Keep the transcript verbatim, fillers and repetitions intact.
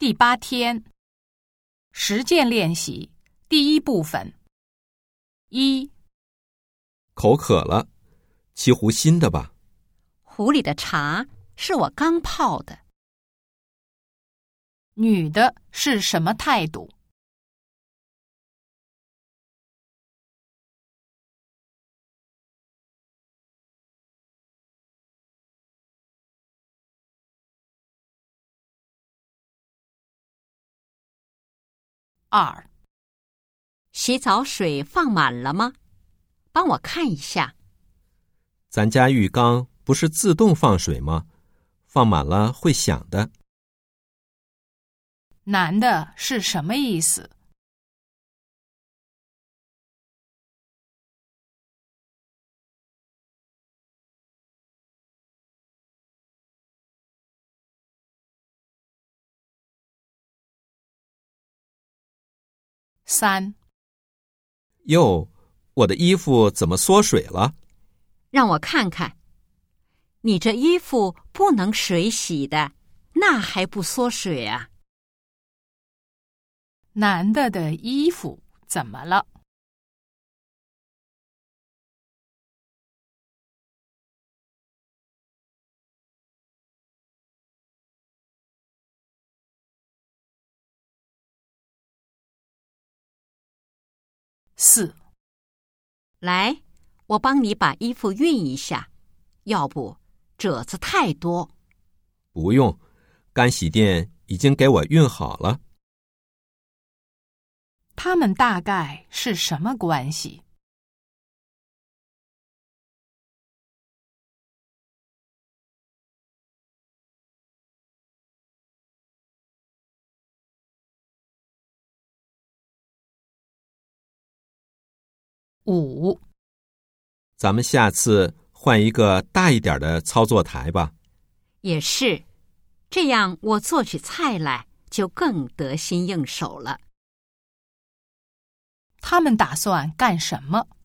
第八天，实践练习第一部分。一， 口渴了，沏壶新的吧。 壶里的茶是我刚泡的。 女的是什么态度？二， 洗澡水放满了吗？帮我看一下。 咱家浴缸不是自动放水吗？放满了会响的。 男的是什么意思？三， 哟，我的衣服怎么缩水了？ 让我看看。你这衣服不能水洗的，那还不缩水啊？ 男的的衣服怎么了？四， 来，我帮你把衣服熨一下，要不褶子太多。 不用，干洗店已经给我熨好了。 他们大概是什么关系？五， 咱们下次换一个大一点的操作台吧。 也是，这样我做起菜来就更得心应手了。 他们打算干什么？